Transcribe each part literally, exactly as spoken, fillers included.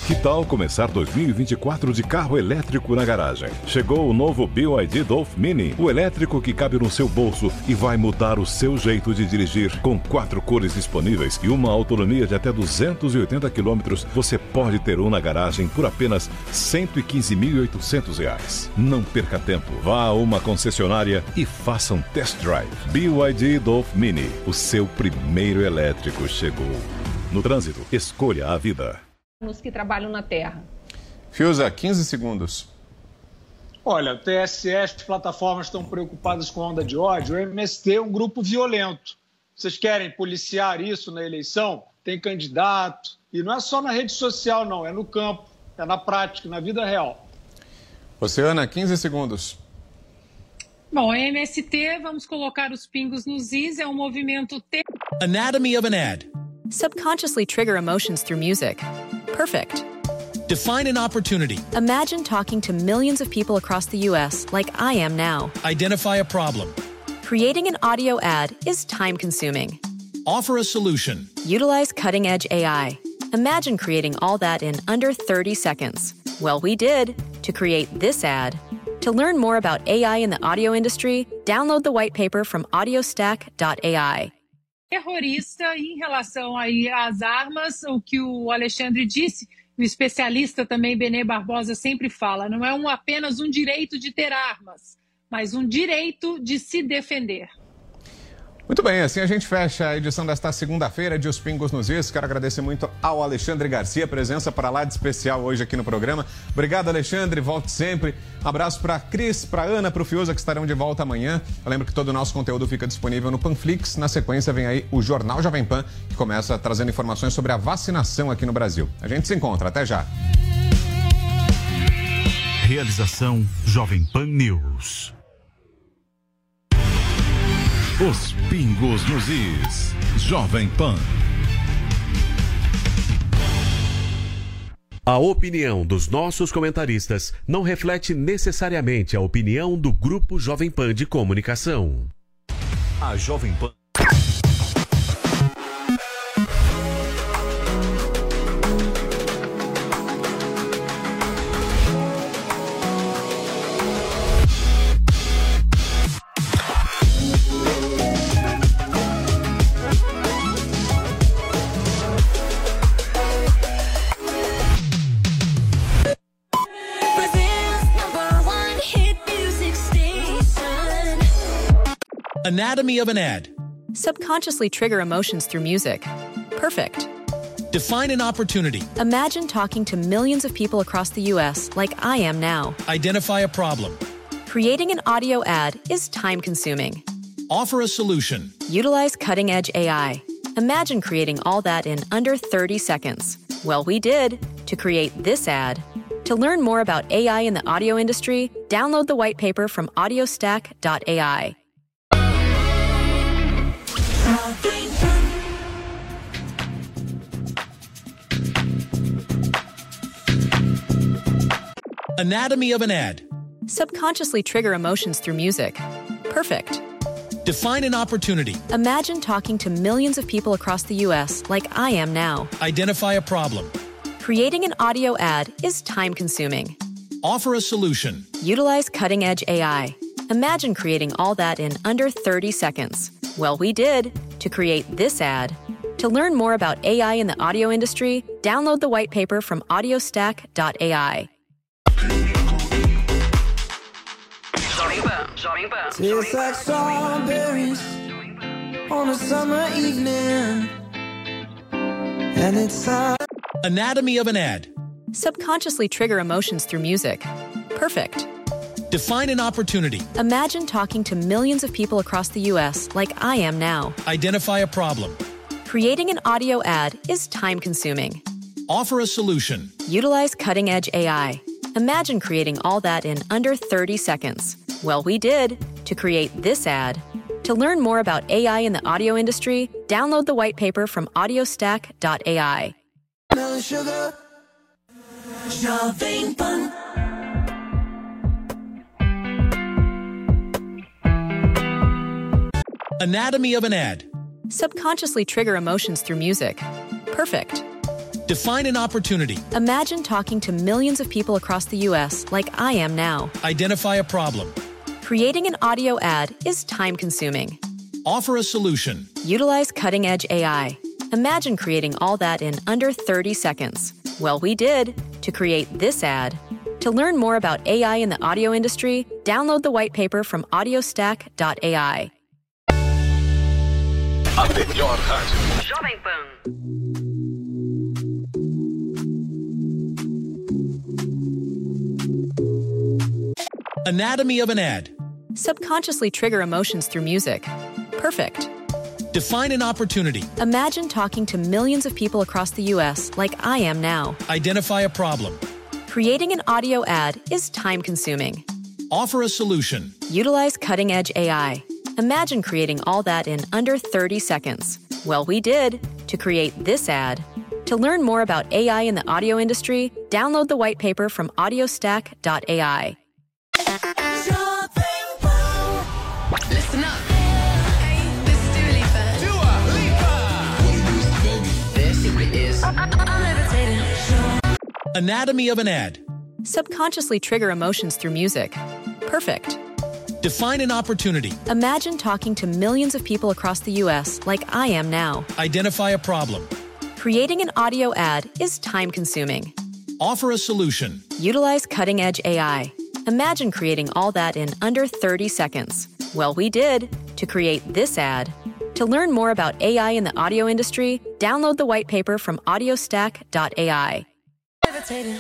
Que tal começar dois mil e vinte e quatro de carro elétrico na garagem? Chegou o novo B Y D Dolph Mini, o elétrico que cabe no seu bolso e vai mudar o seu jeito de dirigir. Com quatro cores disponíveis e uma autonomia de até duzentos e oitenta quilômetros, você pode ter um na garagem por apenas cento e quinze mil e oitocentos reais. Não perca tempo, vá a uma concessionária e faça um test drive. B Y D Dolph Mini, o seu primeiro elétrico chegou. No trânsito, escolha a vida. Os que trabalham na terra. Fiuza, quinze segundos. Olha, o T S E, as plataformas estão preocupadas com a onda de ódio. O M S T é um grupo violento. Vocês querem policiar isso na eleição? Tem candidato. E não é só na rede social, não. É no campo, é na prática, na vida real. Oceana, quinze segundos. Bom, a M S T, vamos colocar os pingos nos is, é um movimento... T... Anatomy of an ad. Subconsciously trigger emotions through music. Perfect. Define an opportunity. Imagine talking to millions of people across the U S like I am now. Identify a problem. Creating an audio ad is time-consuming. Offer a solution. Utilize cutting-edge A I. Imagine creating all that in under thirty seconds. Well, we did to create this ad. To learn more about A I in the audio industry, download the white paper from audiostack dot A I. Terrorista em relação aí às armas, o que o Alexandre disse, o especialista também, Benê Barbosa, sempre fala, não é um, apenas um direito de ter armas, mas um direito de se defender. Muito bem, assim a gente fecha a edição desta segunda-feira de Os Pingos nos Is. Quero agradecer muito ao Alexandre Garcia, presença para lá de especial hoje aqui no programa. Obrigado, Alexandre, volte sempre. Um abraço para a Cris, para a Ana, para o Fiuza, que estarão de volta amanhã. Eu lembro que todo o nosso conteúdo fica disponível no Panflix. Na sequência vem aí o Jornal Jovem Pan, que começa trazendo informações sobre a vacinação aqui no Brasil. A gente se encontra, até já. Realização Jovem Pan News. Os Pingos nos Is. Jovem Pan. A opinião dos nossos comentaristas não reflete necessariamente a opinião do Grupo Jovem Pan de Comunicação. A Jovem Pan. Anatomy of an ad. Subconsciously trigger emotions through music. Perfect. Define an opportunity. Imagine talking to millions of people across the U S like I am now. Identify a problem. Creating an audio ad is time-consuming. Offer a solution. Utilize cutting-edge A I. Imagine creating all that in under thirty seconds. Well, we did to create this ad. To learn more about A I in the audio industry, download the white paper from audiostack dot A I. Anatomy of an ad. Subconsciously trigger emotions through music. Perfect. Define an opportunity. Imagine talking to millions of people across the U S like I am now. Identify a problem. Creating an audio ad is time-consuming. Offer a solution. Utilize cutting-edge A I. Imagine creating all that in under thirty seconds. Well, we did to create this ad. To learn more about A I in the audio industry, download the white paper from audiostack dot A I. Tastes like strawberries on a summer evening, and it's time. Anatomy of an ad. Subconsciously trigger emotions through music. Perfect. Define an opportunity. Imagine talking to millions of people across the U S like I am now. Identify a problem. Creating an audio ad is time-consuming. Offer a solution. Utilize cutting-edge A I. Imagine creating all that in under thirty seconds. Well, we did to create this ad. To learn more about A I in the audio industry, download the white paper from audiostack dot A I. Melon sugar, Jovem Pan. Anatomy of an ad. Subconsciously trigger emotions through music. Perfect. Define an opportunity. Imagine talking to millions of people across the U S like I am now. Identify a problem. Creating an audio ad is time-consuming. Offer a solution. Utilize cutting-edge A I. Imagine creating all that in under thirty seconds. Well, we did to create this ad. To learn more about A I in the audio industry, download the white paper from audiostack dot A I. A melhor rádio. Jovem Pan. Anatomy of an ad. Subconsciously trigger emotions through music. Perfect. Define an opportunity. Imagine talking to millions of people across the U S like I am now. Identify a problem. Creating an audio ad is time-consuming. Offer a solution. Utilize cutting-edge A I. Imagine creating all that in under thirty seconds. Well, we did to create this ad. To learn more about A I in the audio industry, download the white paper from audiostack dot A I. Listen up. Hey, this is Dua Lipa. Dua Lipa. What it is, baby? This simply is. I'm levitating. Anatomy of an ad. Subconsciously trigger emotions through music. Perfect. Define an opportunity. Imagine talking to millions of people across the U S like I am now. Identify a problem. Creating an audio ad is time-consuming. Offer a solution. Utilize cutting-edge A I. Imagine creating all that in under thirty seconds. Well, we did to create this ad. To learn more about A I in the audio industry, download the white paper from audiostack dot A I. Levitating.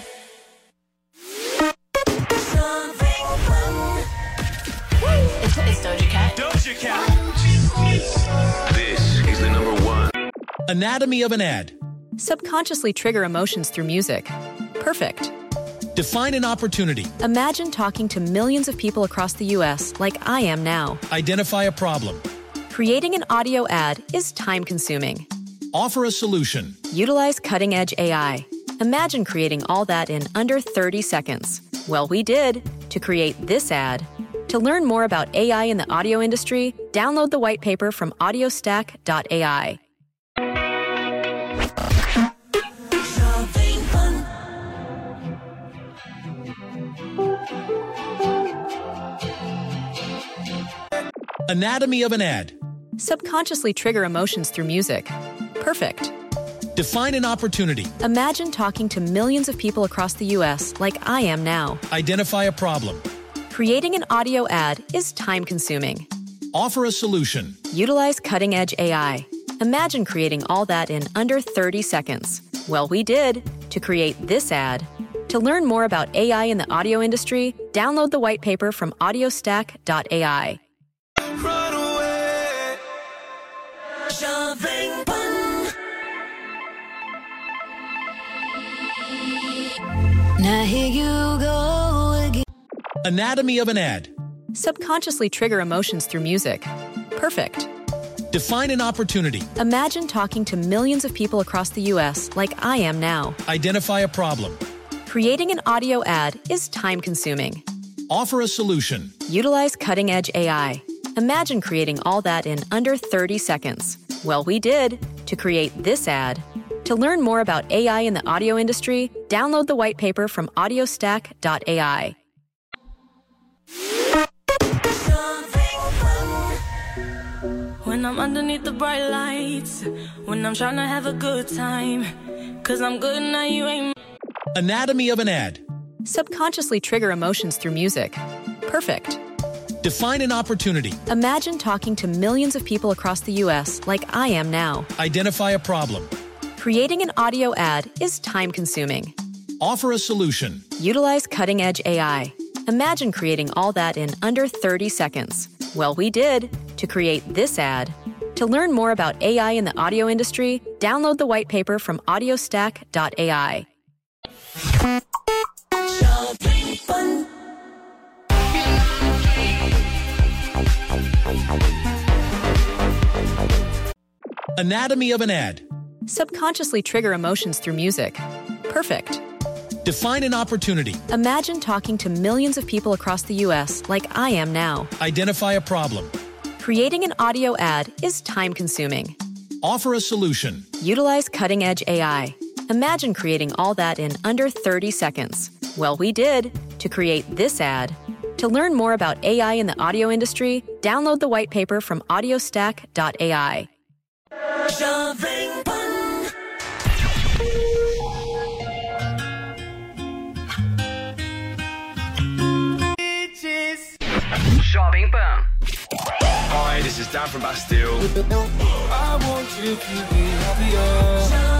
It's, it's Doja Cat. Doja Cat. This is the number one. Anatomy of an ad. Subconsciously trigger emotions through music. Perfect. Define an opportunity. Imagine talking to millions of people across the U S like I am now. Identify a problem. Creating an audio ad is time-consuming. Offer a solution. Utilize cutting-edge A I. Imagine creating all that in under thirty seconds. Well, we did to create this ad. To learn more about A I in the audio industry, download the white paper from audiostack dot A I. Anatomy of an ad. Subconsciously trigger emotions through music. Perfect. Define an opportunity. Imagine talking to millions of people across the U S like I am now. Identify a problem. Creating an audio ad is time-consuming. Offer a solution. Utilize cutting-edge A I. Imagine creating all that in under thirty seconds. Well, we did to create this ad. To learn more about A I in the audio industry, download the white paper from audiostack dot A I. Run away. Jovem Pan. Now here you go again. Anatomy of an ad. Subconsciously trigger emotions through music. Perfect. Define an opportunity. Imagine talking to millions of people across the U S like I am now. Identify a problem. Creating an audio ad is time-consuming. Offer a solution. Utilize cutting-edge A I. Imagine creating all that in under thirty seconds. Well, we did to create this ad. To learn more about A I in the audio industry, download the white paper from audiostack dot A I. When I'm underneath the bright lights, when I'm trying to have a good time, 'cause I'm good now, you ain't. Anatomy of an ad. Subconsciously trigger emotions through music. Perfect. Define an opportunity. Imagine talking to millions of people across the U S like I am now. Identify a problem. Creating an audio ad is time-consuming. Offer a solution. Utilize cutting-edge A I. Imagine creating all that in under thirty seconds. Well, we did to create this ad. To learn more about A I in the audio industry, download the white paper from audiostack dot A I. Anatomy of an ad. Subconsciously trigger emotions through music. Perfect. Define an opportunity. Imagine talking to millions of people across the U S like I am now. Identify a problem. Creating an audio ad is time-consuming. Offer a solution. Utilize cutting-edge A I. Imagine creating all that in under thirty seconds. Well, we did to create this ad. To learn more about A I in the audio industry, download the white paper from audiostack dot A I. Jovem Pan. Jovem Pan. Hi, this is Dan from Bastille. I want you to be happier.